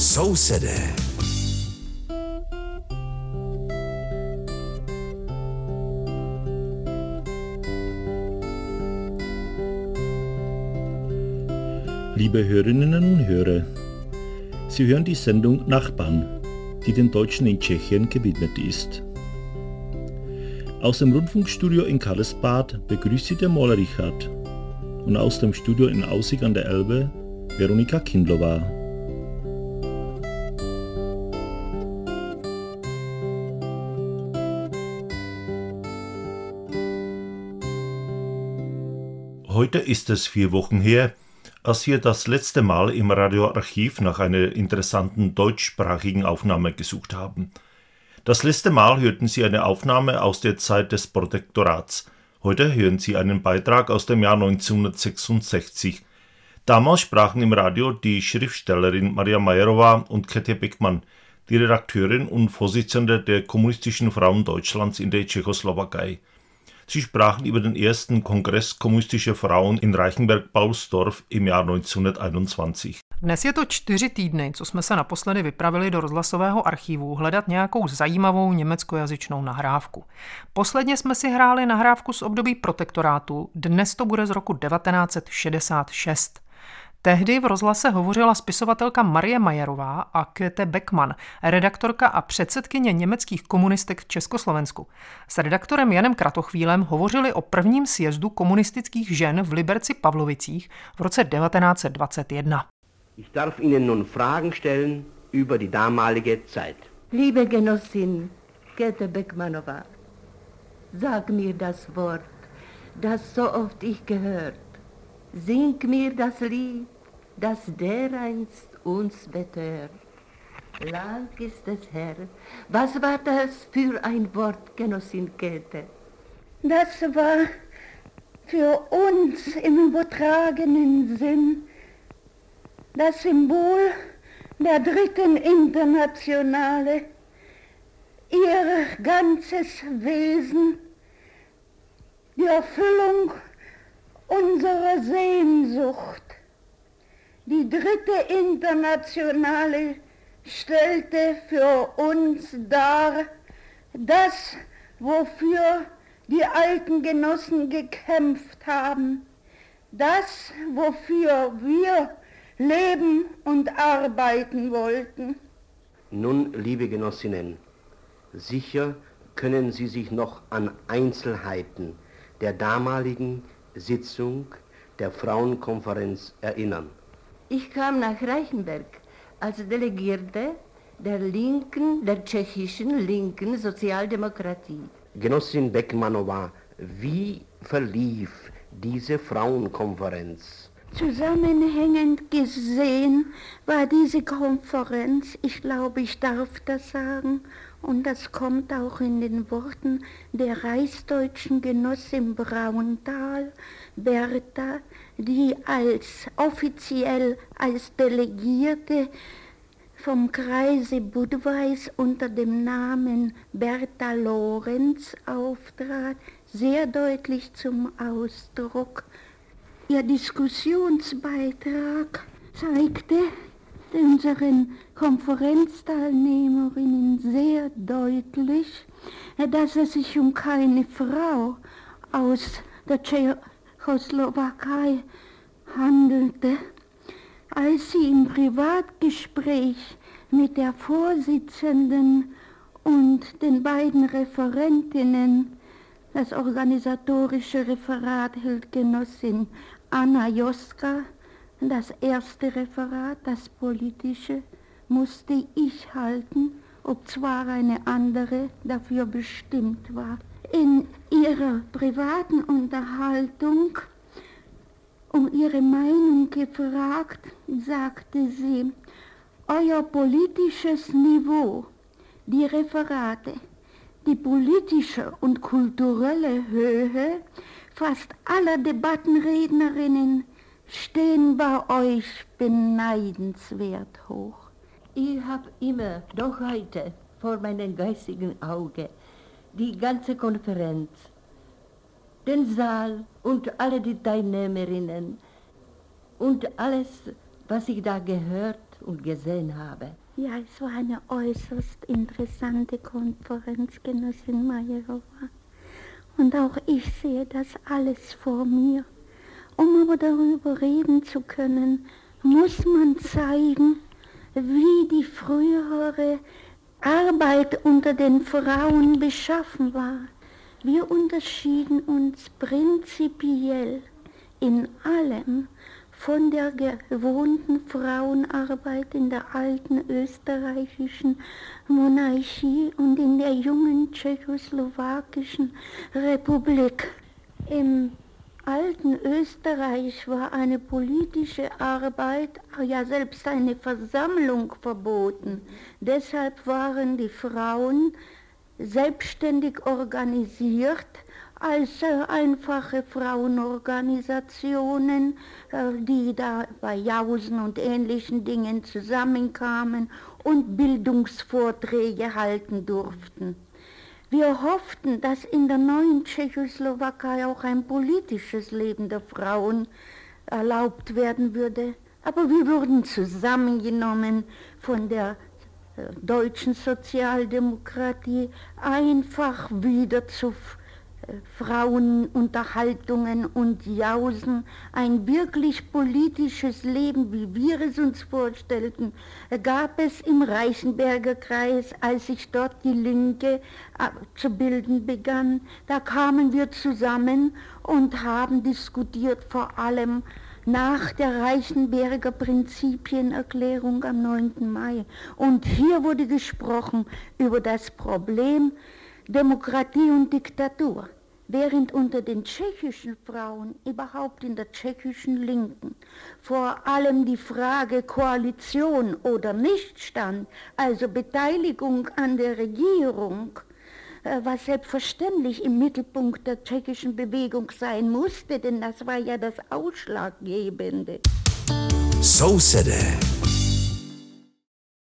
Sousedé. Liebe Hörerinnen und Hörer, Sie hören die Sendung Nachbarn, die den Deutschen in Tschechien gewidmet ist. Aus dem Rundfunkstudio in Karlsbad begrüßt Sie der Maler Richard und aus dem Studio in Aussig an der Elbe Veronika Kindlova. Heute ist es 4 Wochen her, als wir das letzte Mal im Radioarchiv nach einer interessanten deutschsprachigen Aufnahme gesucht haben. Das letzte Mal hörten Sie eine Aufnahme aus der Zeit des Protektorats. Heute hören Sie einen Beitrag aus dem Jahr 1966. Damals sprachen im Radio die Schriftstellerin Maria Majerová und Käthe Beckmann, die Redakteurin und Vorsitzende der Kommunistischen Frauen Deutschlands in der Tschechoslowakei. Sie sprachen über den ersten Kongress kommunistischer Frauen in Reichenberg-Paulsdorf im Jahr 1921. Dnes je to 4 týdny, co jsme se naposledy vypravili do rozhlasového archivu hledat nějakou zajímavou německojazyčnou nahrávku. Posledně jsme si hráli nahrávku z období protektorátu, dnes to bude z roku 1966. Tehdy v rozhlase hovořila spisovatelka Marie Majerová a Käthe Beckmann, redaktorka a předsedkyně německých komunistek v Československu. S redaktorem Janem Kratochvílem hovořili o prvním sjezdu komunistických žen v Liberci-Pavlovicích v roce 1921. Ich darf Ihnen nun Fragen stellen über die damalige Zeit. Liebe Genossin Käthe Beckmannová, sag mir das Wort, das so oft ich gehört. Sing mir das Lied, das dereinst uns betört. Lang ist es her. Was war das für ein Wort, Genossin Käthe? Das war für uns im übertragenen Sinn das Symbol der Dritten Internationale, ihr ganzes Wesen, die Erfüllung unserer Sehnsucht. Die Dritte Internationale stellte für uns dar das, wofür die alten Genossen gekämpft haben, das, wofür wir leben und arbeiten wollten. Nun, liebe Genossinnen, sicher können Sie sich noch an Einzelheiten der damaligen Sitzung der Frauenkonferenz erinnern. Ich kam nach Reichenberg als Delegierte der tschechischen linken Sozialdemokratie. Genossin Beckmannová, wie verlief diese Frauenkonferenz? Zusammenhängend gesehen war diese Konferenz, ich glaube, ich darf das sagen, und das kommt auch in den Worten der reichsdeutschen Genossin Braunthal, Bertha, die offiziell als Delegierte vom Kreise Budweis unter dem Namen Bertha Lorenz auftrat, sehr deutlich zum Ausdruck. Ihr Diskussionsbeitrag zeigte unseren Konferenzteilnehmerinnen sehr deutlich, dass es sich um keine Frau aus der Tschechoslowakei handelte. Als sie im Privatgespräch mit der Vorsitzenden und den beiden Referentinnen das organisatorische Referat hielt Genossin Anna Joska, das erste Referat, das politische, musste ich halten, obzwar eine andere dafür bestimmt war. In ihrer privaten Unterhaltung um ihre Meinung gefragt, sagte sie, euer politisches Niveau, die Referate, die politische und kulturelle Höhe fast aller Debattenrednerinnen stehen bei euch beneidenswert hoch. Ich habe immer, noch heute, vor meinem geistigen Auge, die ganze Konferenz, den Saal und alle die Teilnehmerinnen und alles, was ich da gehört und gesehen habe. Ja, es war eine äußerst interessante Konferenz, Genossin Majerowa. Und auch ich sehe das alles vor mir. Um aber darüber reden zu können, muss man zeigen, wie die frühere Arbeit unter den Frauen beschaffen war. Wir unterschieden uns prinzipiell in allem von der gewohnten Frauenarbeit in der alten österreichischen Monarchie und in der jungen tschechoslowakischen Republik. Im alten Österreich war eine politische Arbeit, ja selbst eine Versammlung verboten. Deshalb waren die Frauen selbstständig organisiert als einfache Frauenorganisationen, die da bei Jausen und ähnlichen Dingen zusammenkamen und Bildungsvorträge halten durften. Wir hofften, dass in der neuen Tschechoslowakei auch ein politisches Leben der Frauen erlaubt werden würde, aber wir wurden zusammengenommen von der deutschen Sozialdemokratie einfach wieder zu Frauenunterhaltungen und Jausen. Ein wirklich politisches Leben, wie wir es uns vorstellten, gab es im Reichenberger Kreis, als sich dort die Linke zu bilden begann. Da kamen wir zusammen und haben diskutiert, vor allem nach der Reichenberger Prinzipienerklärung am 9. Mai. Und hier wurde gesprochen über das Problem Demokratie und Diktatur, während unter den tschechischen Frauen, überhaupt in der tschechischen Linken, vor allem die Frage Koalition oder nicht stand, also Beteiligung an der Regierung, was selbstverständlich im Mittelpunkt der tschechischen Bewegung sein musste, denn das war ja das Ausschlaggebende. So City.